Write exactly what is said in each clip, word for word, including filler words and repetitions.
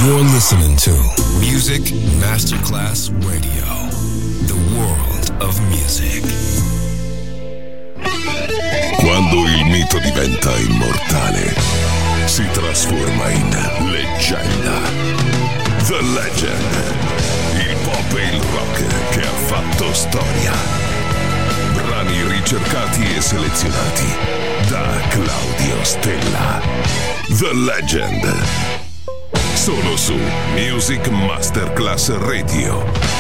You're listening to Music Masterclass Radio, the world of music. Quando il mito diventa immortale, si trasforma in leggenda. The Legend, il pop e il rock che ha fatto storia. Brani ricercati e selezionati da Claudio Stella. The Legend. Solo su Music Masterclass Radio.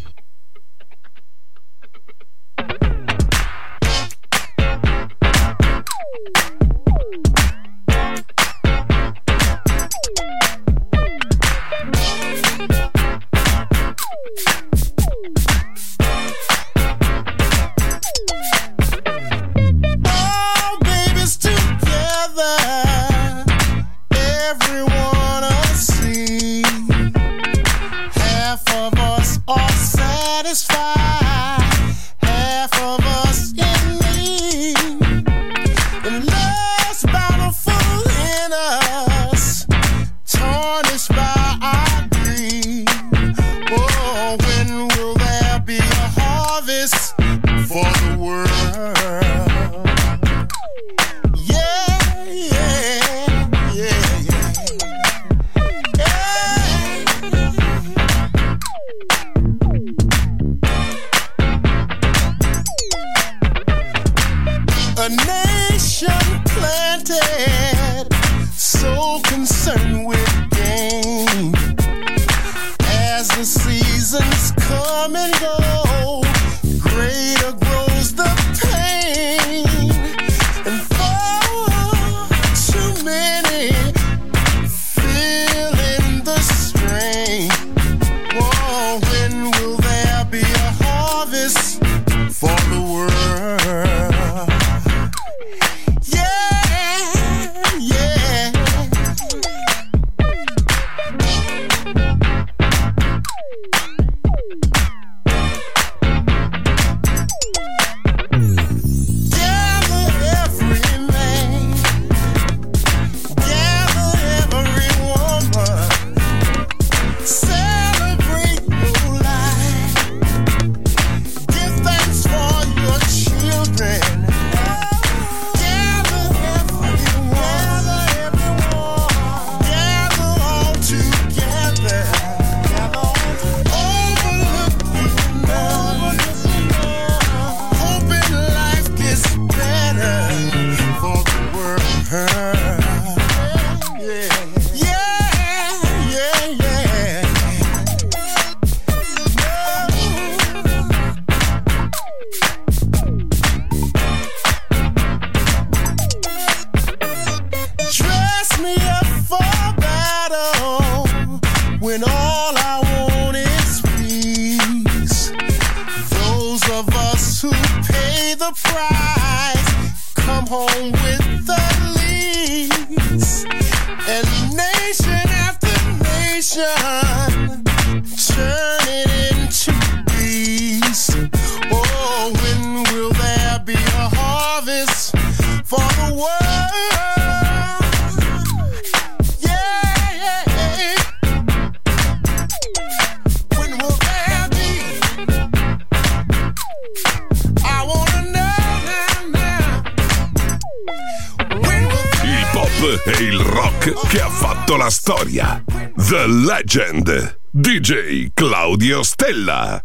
E il rock che ha fatto la storia. The Legend, D J Claudio Stella.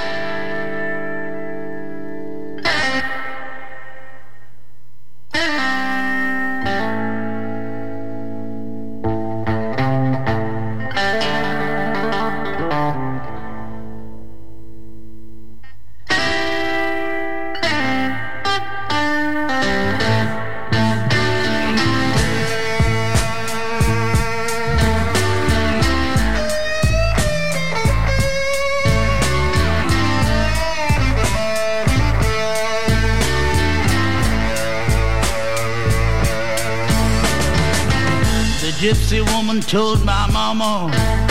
Gypsy woman told my mama,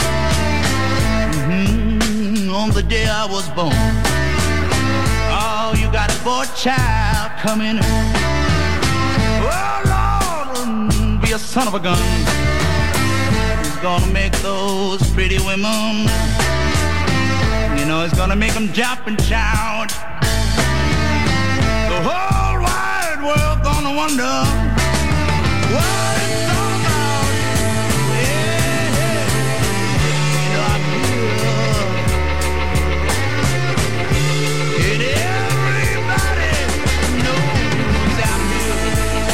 mm-hmm, on the day I was born, oh, you got a boy child coming. Oh, Lord, be a son of a gun. gonna make those pretty women, you know, it's gonna make them jump and shout. The whole wide world gonna wonder what it's all about. Yeah, yeah. You know, I feel it, everybody knows I'm here.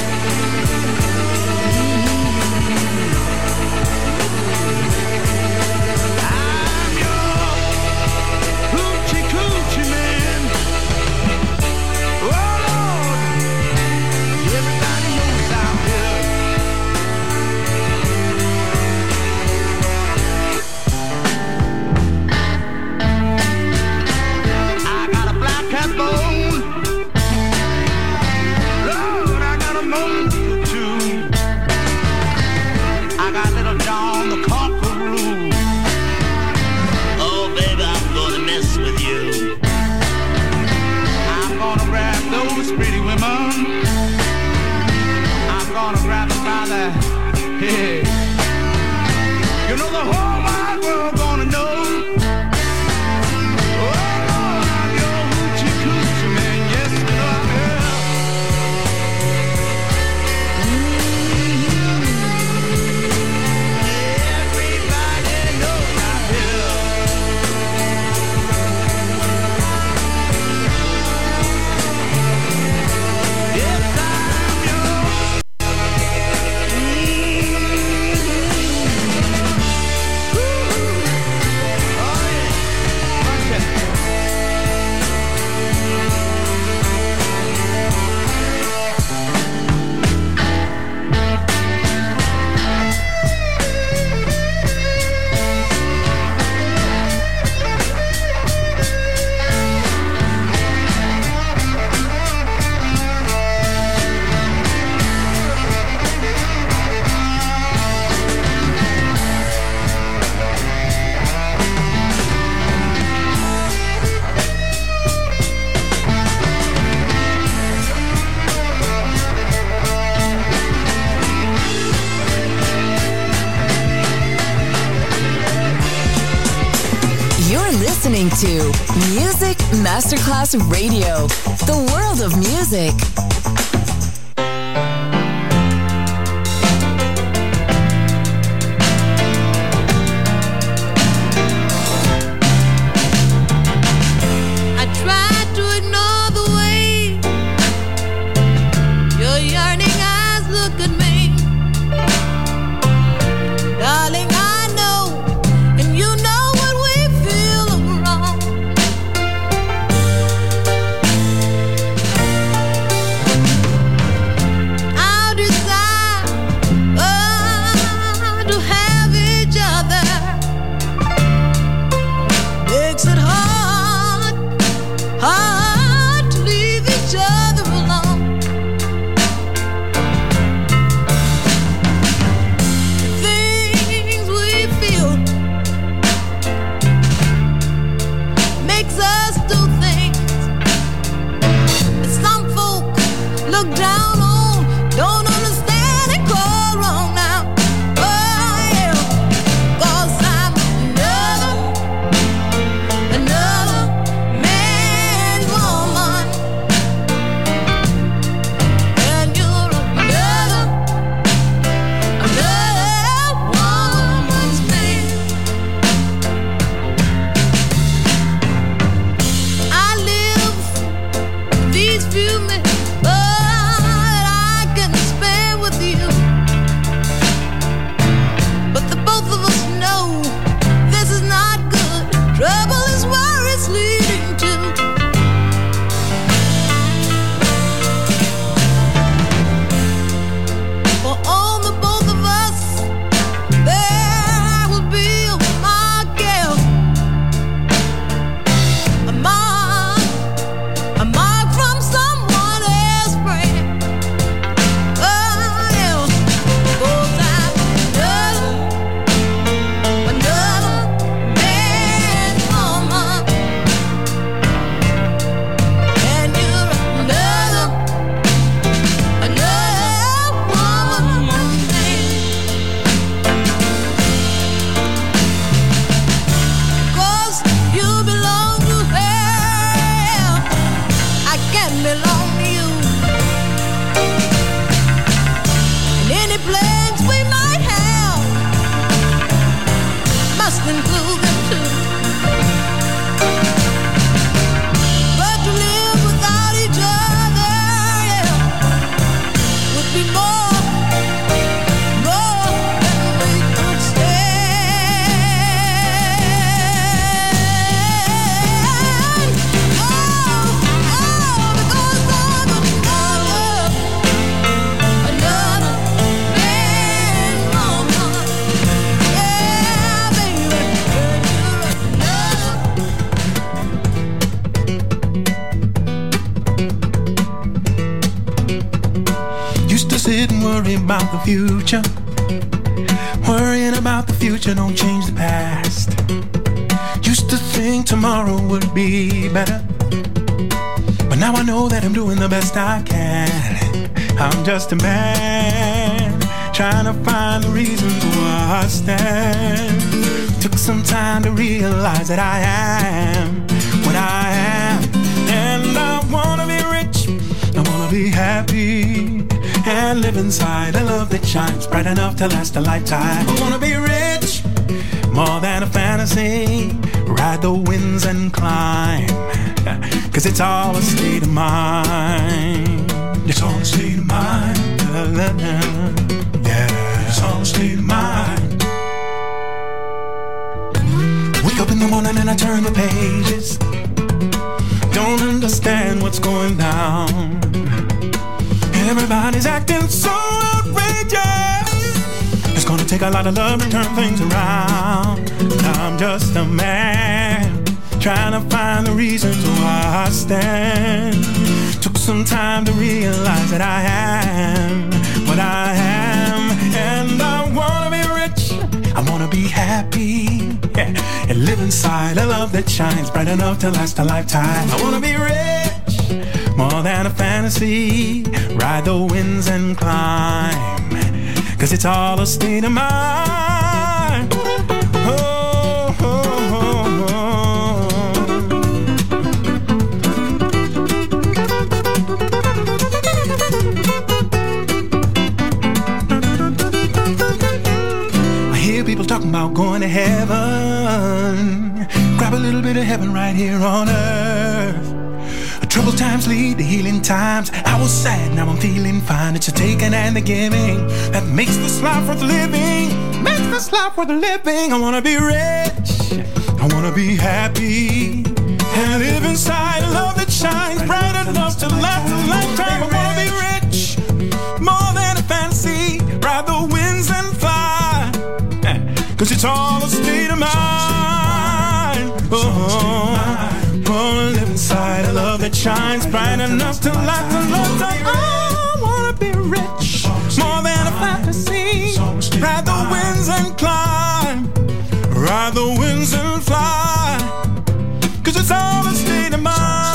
I'm your hoochie coochie man. Oh Lord, everybody knows I'm here. I got a black cat bone. Lord, I got a moon too. I got little John the Conqueror. Oh baby, I'm gonna mess with you. I'm gonna grab those pretty women. I'm gonna grab them by the head. You know the whole wide world gonna know. Oh Lord, I'm your hoochie coochie man. Yes, you know I'm here. Everybody knows I'm here. Yes, I'm yours. Oh yeah. Watch it. You're listening to Music Masterclass Radio, the world of music. I tried to ignore the way your yearning eyes look at me. Darling, I know, and you know what we feel wrong. about the future. Worrying about the future don't change the past. Used to think tomorrow would be better, but now I know that I'm doing the best I can. I'm just a man trying to find the reasons why I stand. Took some time to realize that I am what I am, and I wanna be rich, I wanna be happy, and live inside a love that shines bright enough to last a lifetime. I wanna be rich, more than a fantasy, ride the winds and climb, cause it's all a state of mind. It's all a state of mind. Yeah, it's all a state of mind. Wake up in the morning and I turn the pages, don't understand what's going down. Everybody's acting so outrageous. It's gonna take a lot of love to turn things around. I'm just a man trying to find the reasons why I stand. Took some time to realize that I am what I am, and I wanna be rich, I wanna be happy, yeah, and live inside a love that shines bright enough to last a lifetime. I wanna be rich, more than a fantasy, ride the winds and climb, cause it's all a state of mind. Oh, oh, oh, oh. I hear people talking about going to heaven. Grab a little bit of heaven right here on earth. Troubled times lead to healing times. I was sad, now I'm feeling fine. It's a taking and the giving that makes this life worth living. Makes this life worth living. I wanna be rich, I wanna be happy, and live inside a love that shines bright enough to last a lifetime. I wanna be rich, more than a fantasy, ride the winds and fly, cause it's all a state of mind. Oh, wanna live inside a love that shines bright enough to last a lifetime. I wanna be rich, more than a fantasy, ride the winds and climb, ride the winds and fly, cause it's all a state of mind.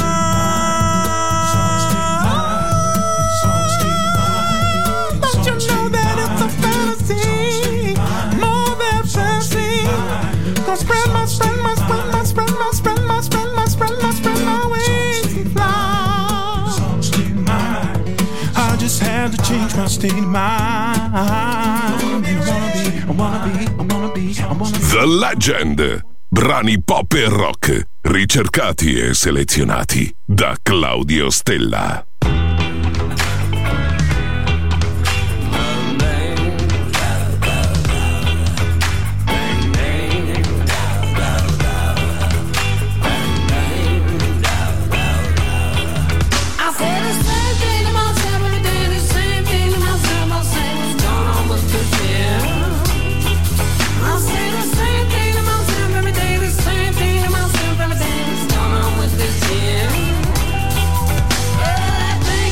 Don't you know that it's a fantasy, more than fantasy, gonna spread my, spread my, spread my, spread my, spread my, spread my, spread my, spread my wings and fly. I just had to change my state of mind. I wanna be, I wanna be, I wanna be, I wanna be. The Legend. Brani pop e rock, ricercati e selezionati da Claudio Stella. That thing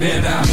it out.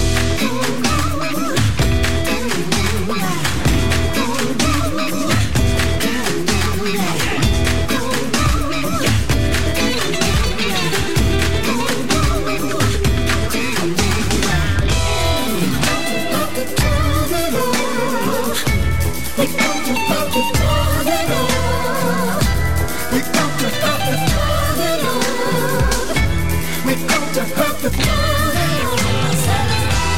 We're going to hurt the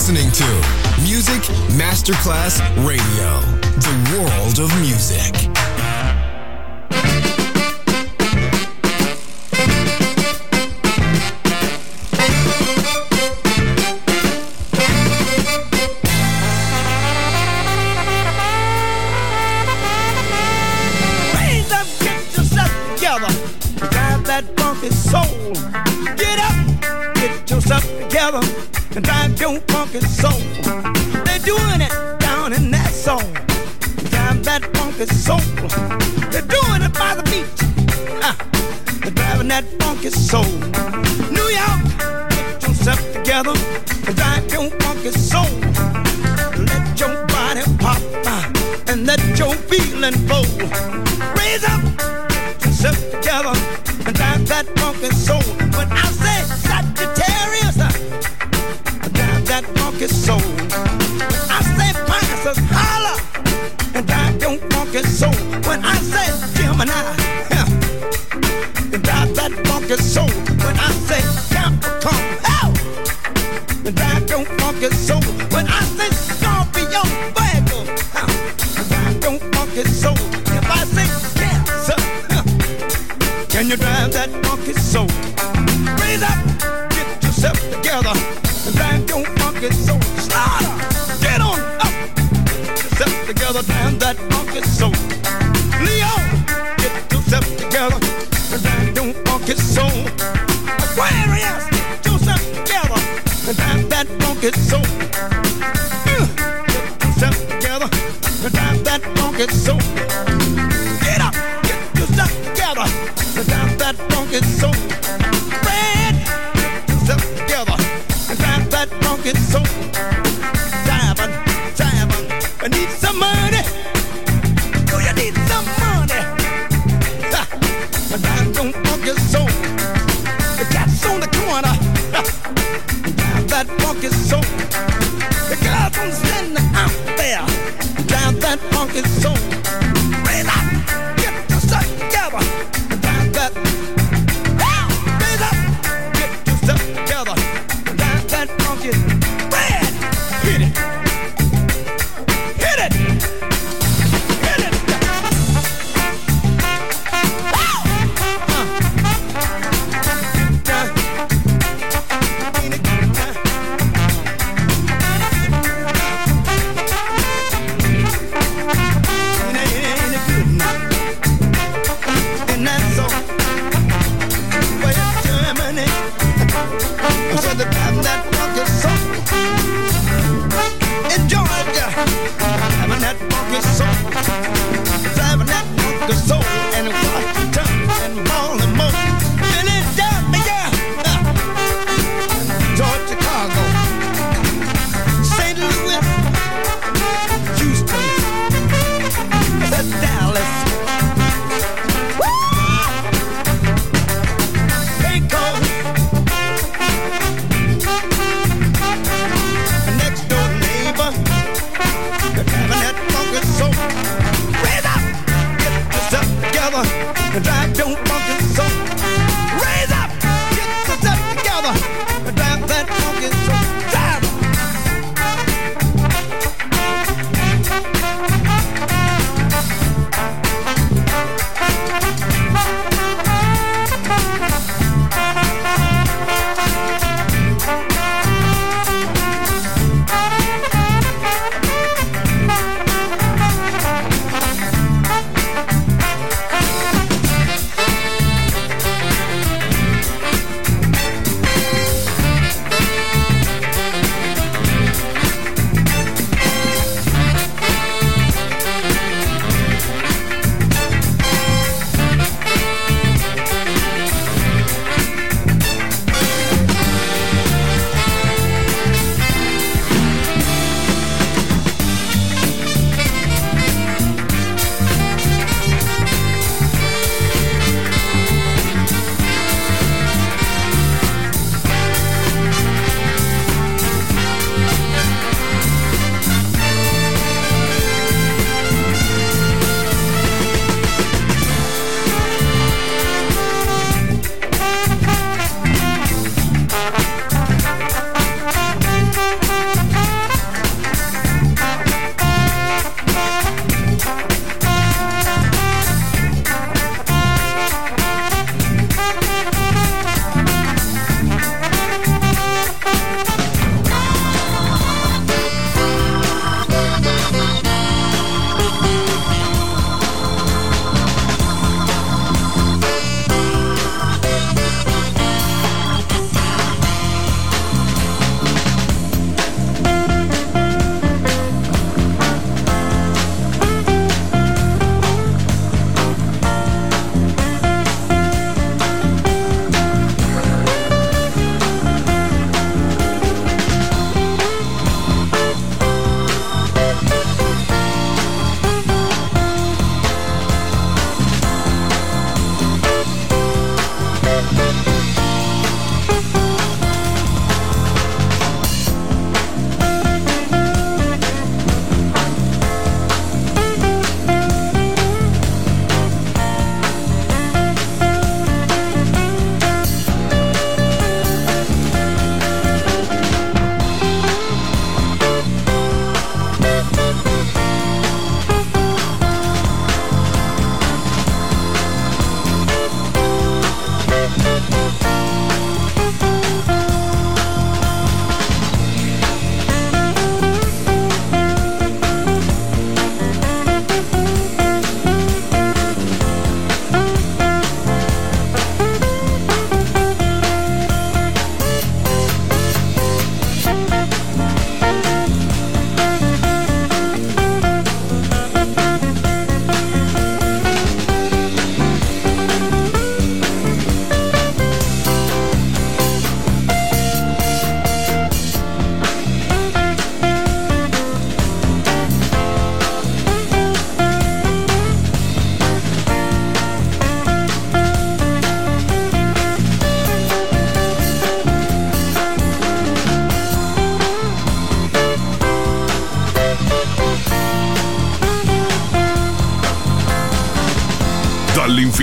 listening to Music Masterclass Radio, the world of music. Raise up, get yourself together, drive that funky soul. Get up, get yourself together, and drive your funky soul. They're doing it down in that soul. Drive that funky soul. They're doing it by the beach. Uh, they're driving that funky soul. New York, get yourself together and drive your funky soul. Let your body pop uh, and let your feeling flow. Raise up, get yourself together and drive that funky soul. When I say Sagittarius, uh, drive that funky soul. I say Pisces, holla, and drive your funky soul. When I say Gemini, yeah, and drive that funky soul. When I say Capricorn, oh, and drive your funky soul. When I say Scorpio, Virgo, huh, and drive your funky soul. If I say Cancer, huh, can you drive that funky soul? Raise up, get yourself together, and drive your funky soul. Slaughter, get on up, get yourself together, drive that funky soul. Leo, get yourself together, and drive your funky soul. Aquarius, get yourself together, and drive that funky soul. Uh, get yourself together, and drive that funky soul. Get up, get yourself together, and drive that funky soul. Red, get yourself together, and drive that funky soul. Diamond, diamond, I need some money. Do you need some money? Ha, and drive your funky soul. The cat's on the corner, ha, drive that funky soul. The girls on standing out there, drive that funky soul. Raise up, get yourself together, and drive that. Ah, raise up, get yourself together, and drive that funky. Red, hit it, hit it, hit it. Woo! Uh. Yeah. Ain't it good, huh? Ain't it- ain't it good now? And that's so. Well, Germany, I said the time that funky soul. In Georgia, having that funky soul. Driving that funky soul. And Washington and Baltimore. Philadelphia, uh, Georgia, Chicago, Saint Louis, Houston, that's Dallas. Waco, a next door neighbor, having that funky soul. Raise up, get yourself together, and drive your funky soul. Raise up, get yourself together, and drive that funky soul. Drive it.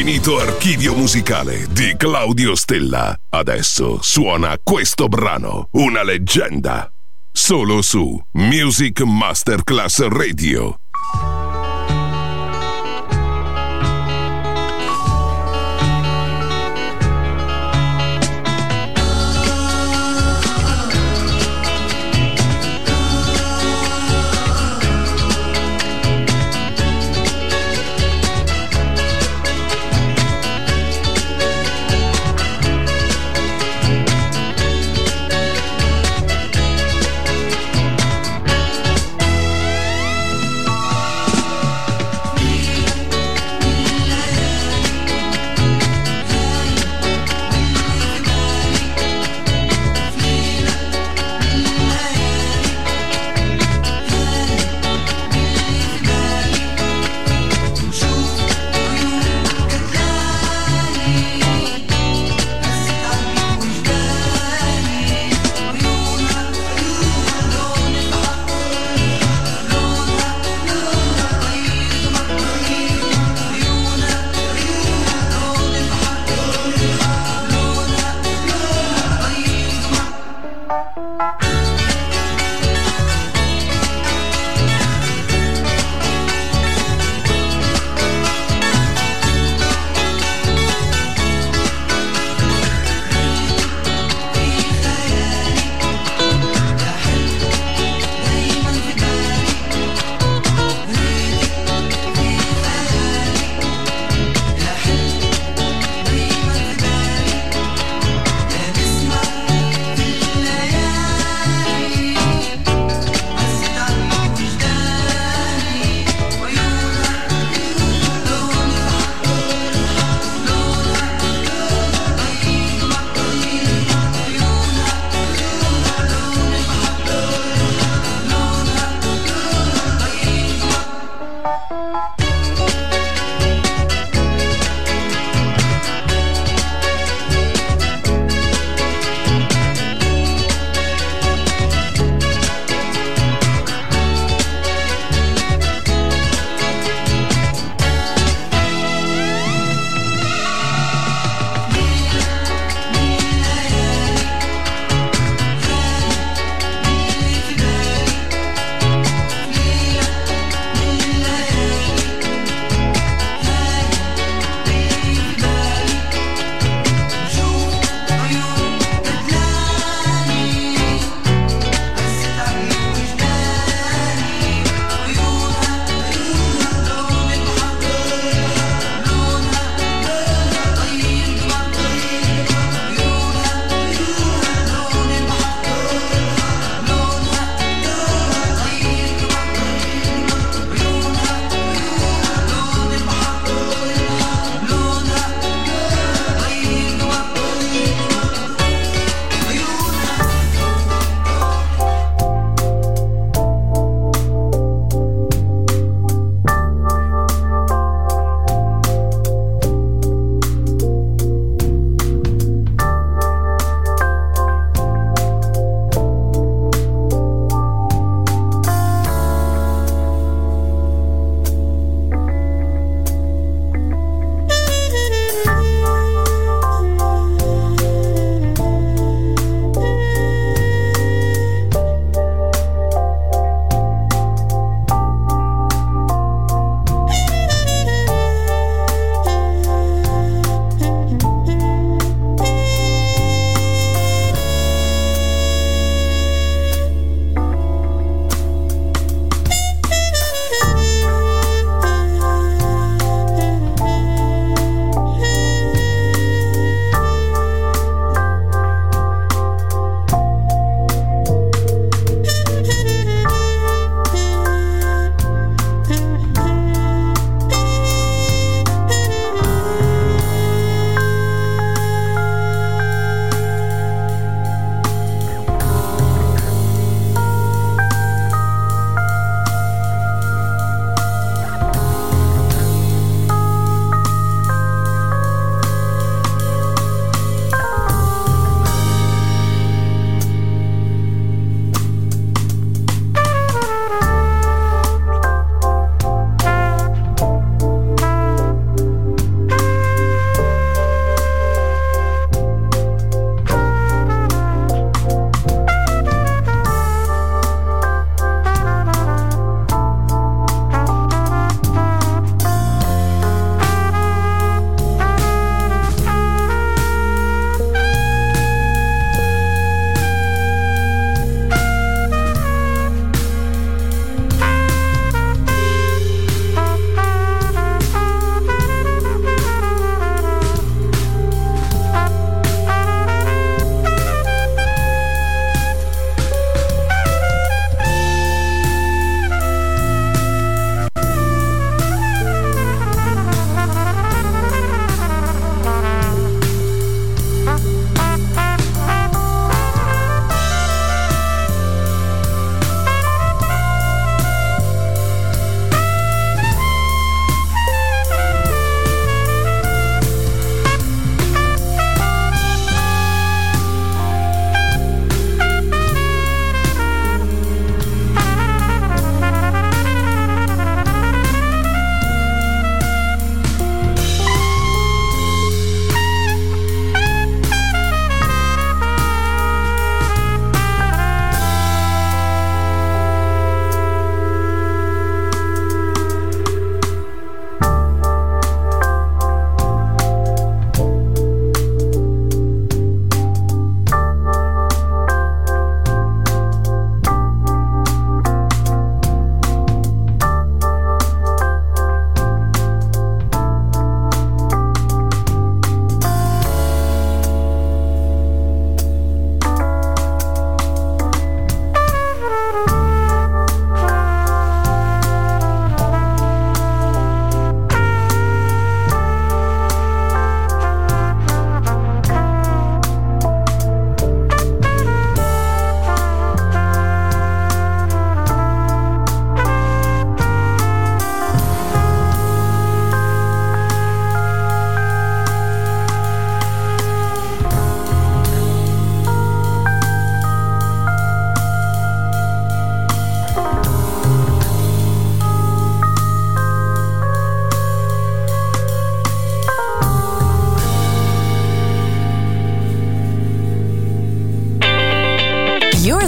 L'infinito archivio musicale di Claudio Stella. Adesso suona questo brano, una leggenda. Solo su Music Masterclass Radio.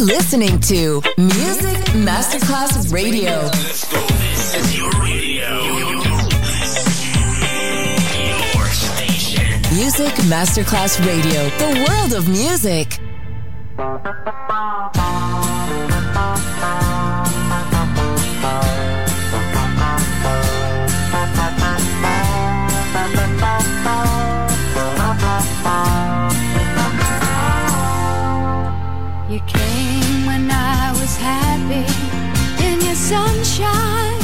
listening to Music Masterclass Radio. Let's go. This is your radio. Your station. Music Masterclass Radio. The world of music. You came when I was happy in your sunshine.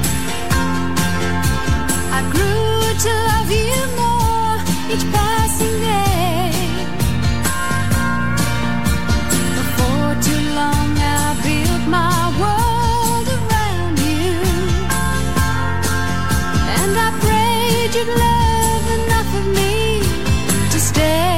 I grew to love you more each passing day. Before too long I built my world around you, and I prayed you'd love enough of me to stay.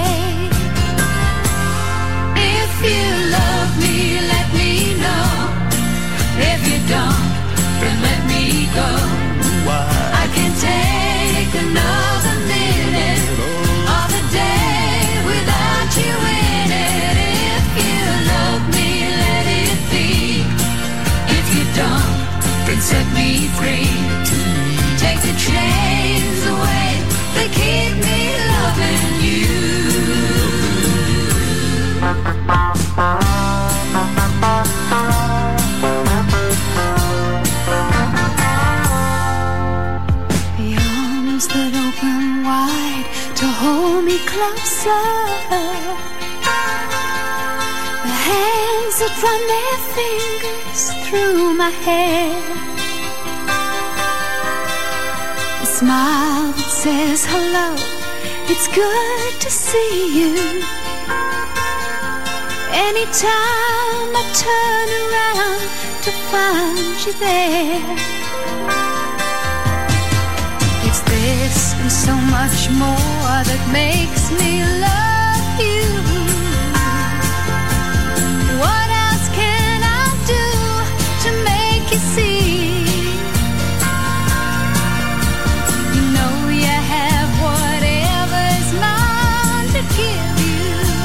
If you love me, let me know. If you don't, then let me go. I can take another minute of the day without you in it. If you love me, let it be. If you don't, then set me free. Take the chains away that keep me loving you. The arms that open wide to hold me closer, the hands that run their fingers through my hair, the smile that says hello, it's good to see you. Anytime I turn around to find you there, it's this and so much more that makes me love you. What else can I do to make you see? You know you have whatever's mine to give you.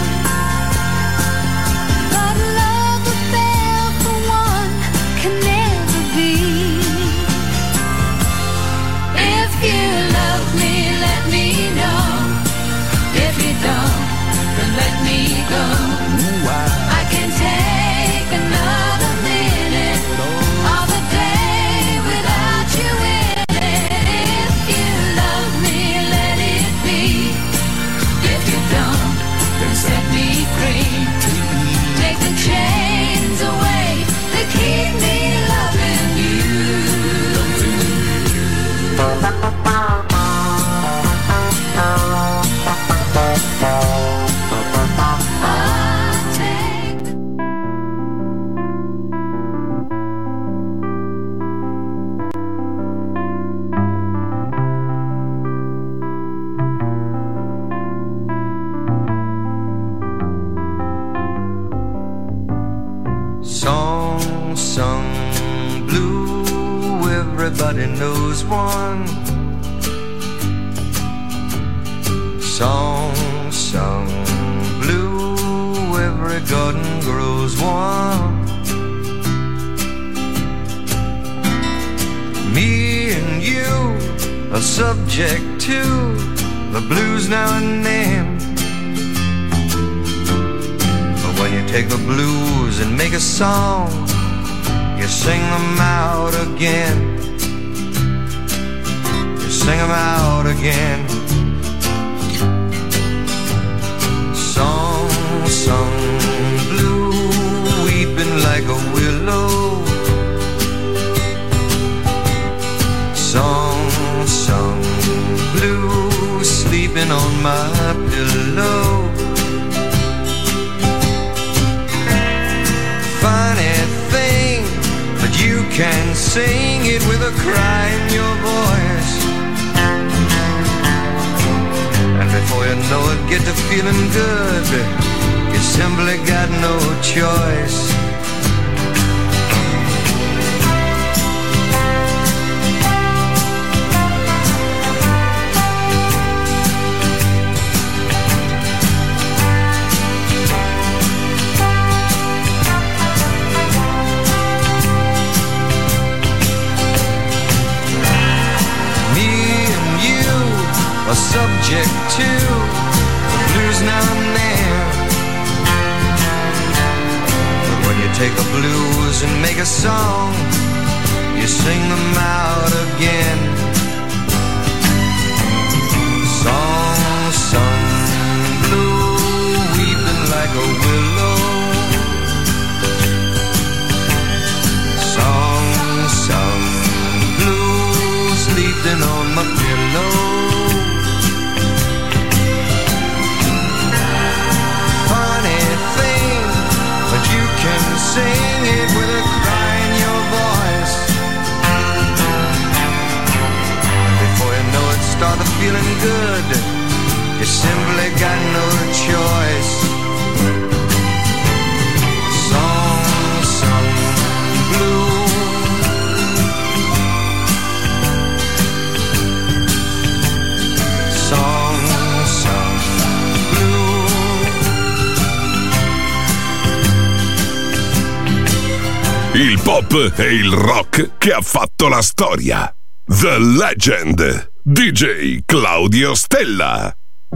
Let me go. I can take another minute of the day without you in it. If you love me, let it be. If you don't, then set me free. Take the chains away that keep me loving you. Everybody knows one song sung blue. Every garden grows one. Me and you are subject to the blues now and then. But when you take the blues and make a song, you sing them out again. Sing them out again. Song sung blue, weeping like a willow. Song sung blue, sleeping on my pillow. Funny thing, but you can sing it with a cry in your voice. Before you know it, get to feeling good. You simply got no choice. take the blues and make a song, you sing them out again. Song sung blue, weeping like a willow. Song sung blue, sleeping on my pillow. Funny thing, but you can sing it with a cry in your voice. And before you know it, start feeling good. You simply got no choice. Song sung blue. Song sung blue. Il pop e il rock che ha fatto la storia. The Legend, D J Claudio Stella.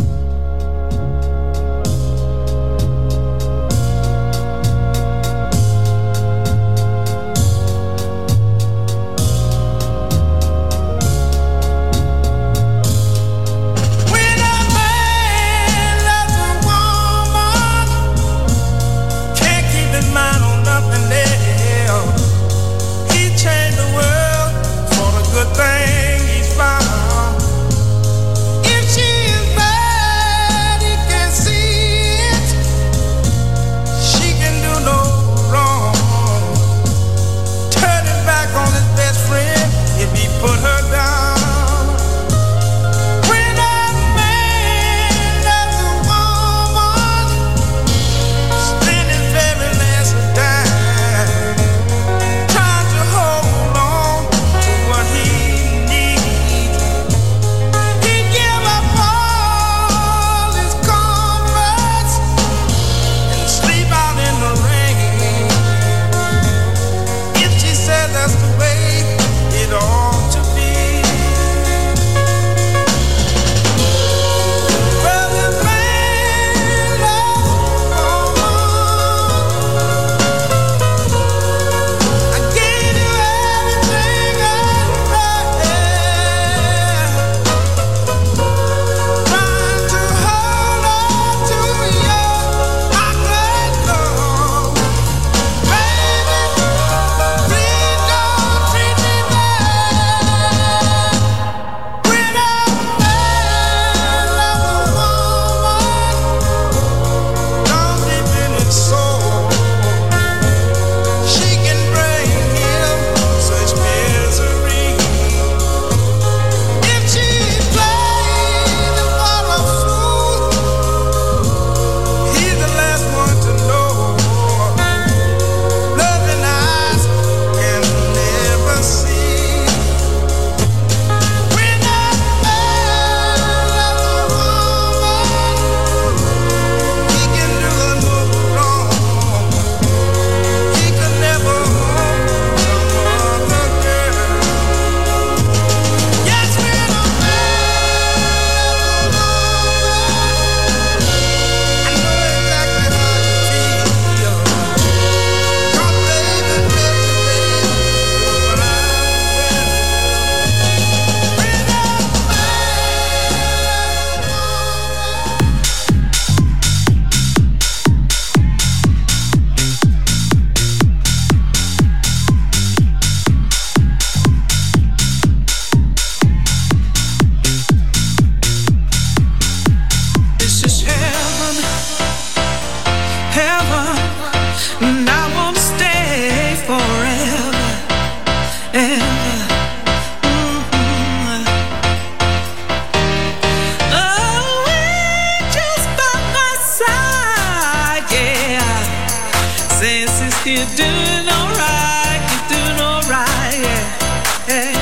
Thing he's found. If she You're doing alright, you're doing alright, yeah, yeah.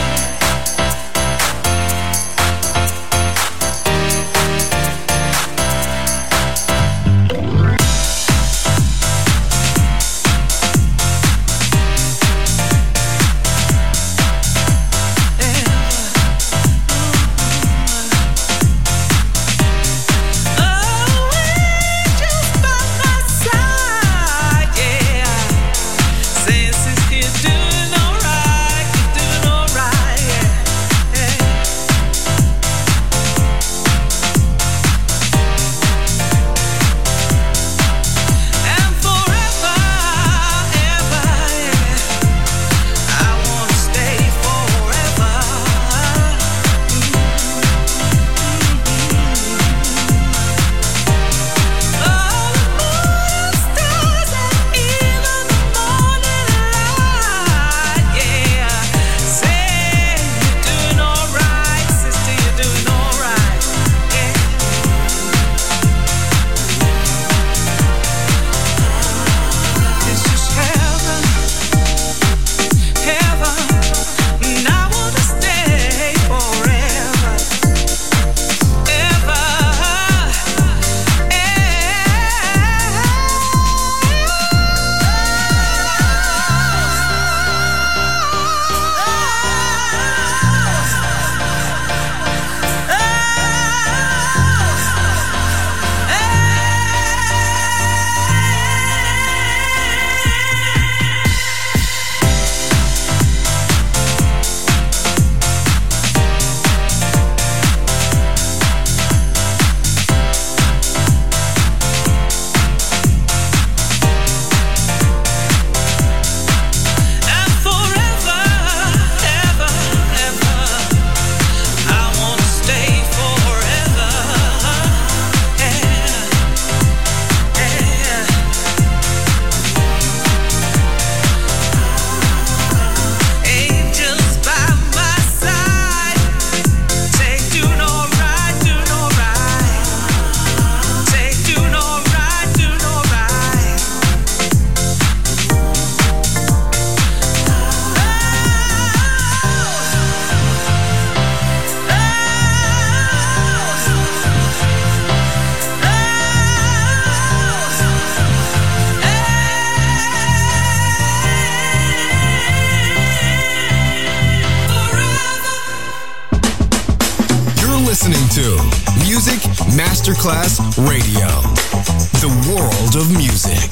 Masterclass Radio, the world of music.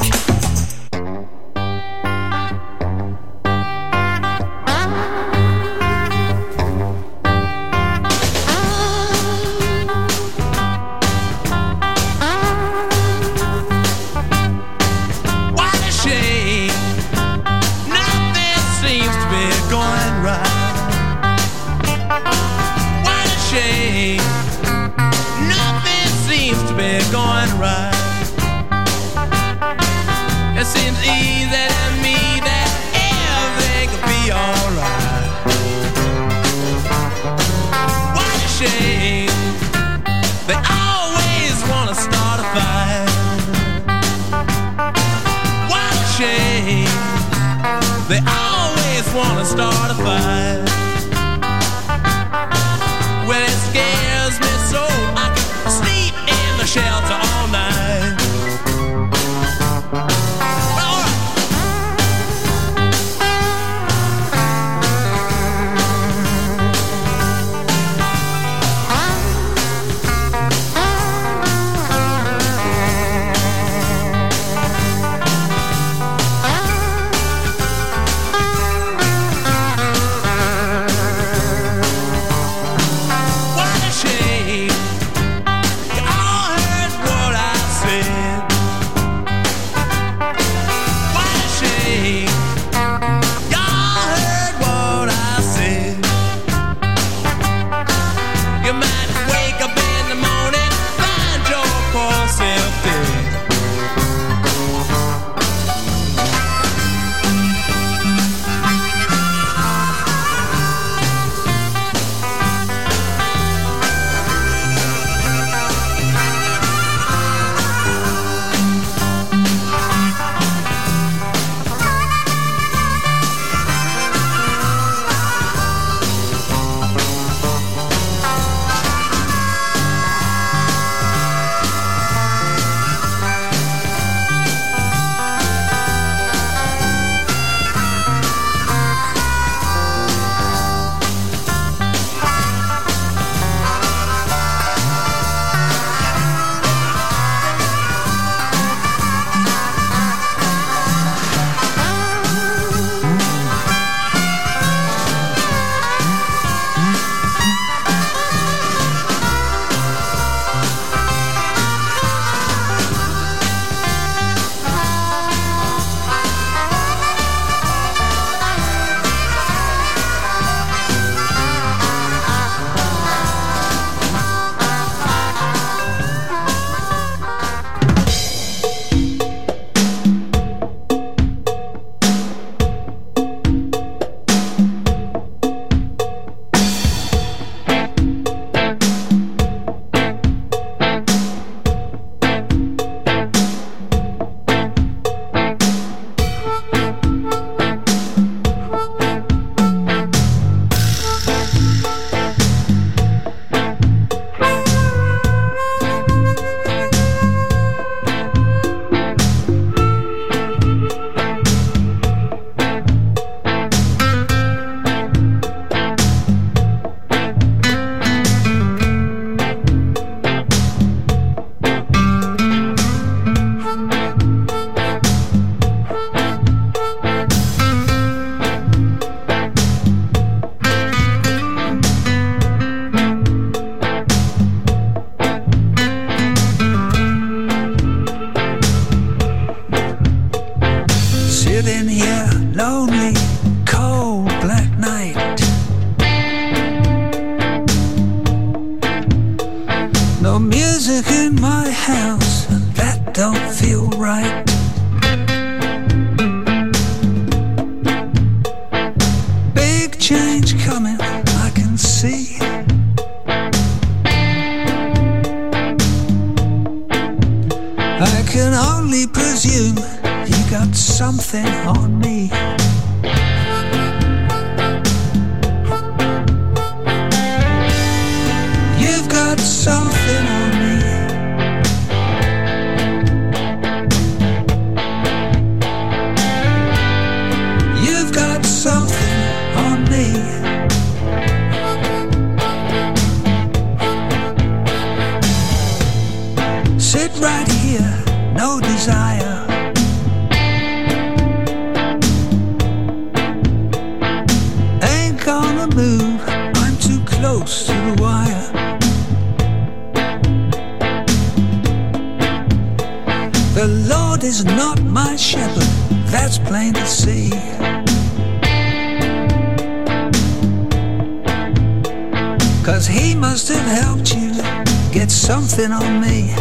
Sit right here, no desire. Ain't gonna move, I'm too close to the wire. The Lord is not my shepherd, that's plain to see. Cause he must have helped you get something on me.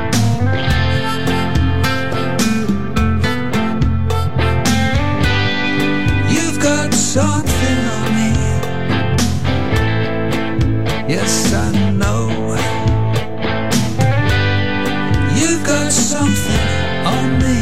You've got something on me. Yes, I know. You've got something on me.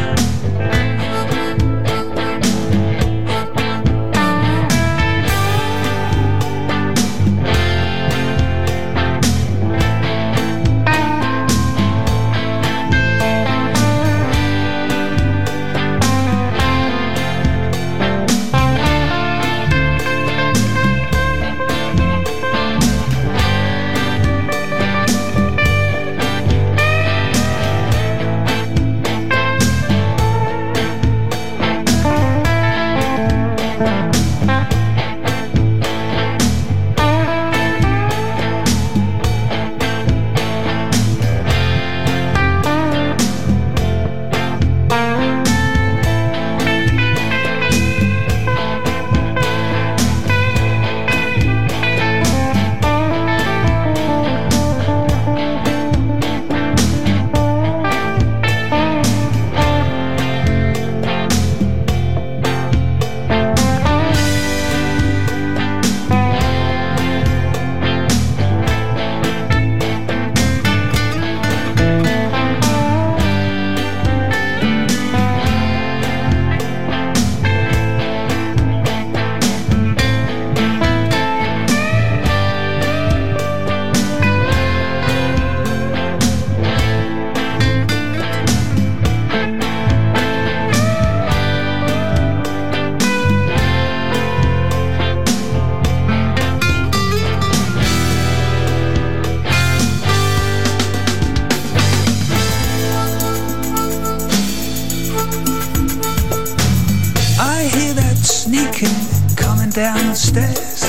Down the stairs,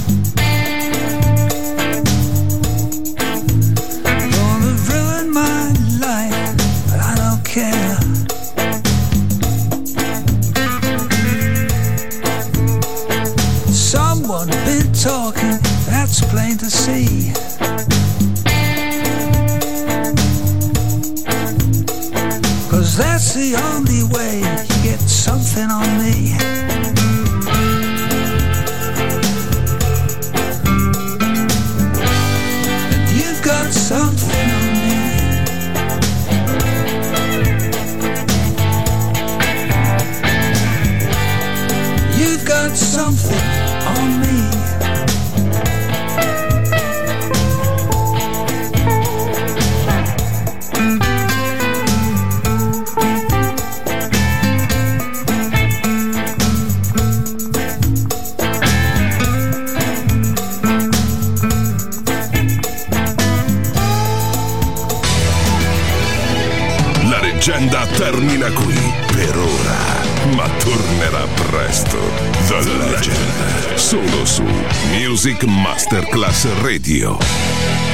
gonna ruin my life, but I don't care. Someone been talking, that's plain to see. Cause that's the only way you get something on me. Something on me. You've got something on me. La leggenda termina qui per ora, ma tornerà presto. The Legend, solo su Music Masterclass Radio.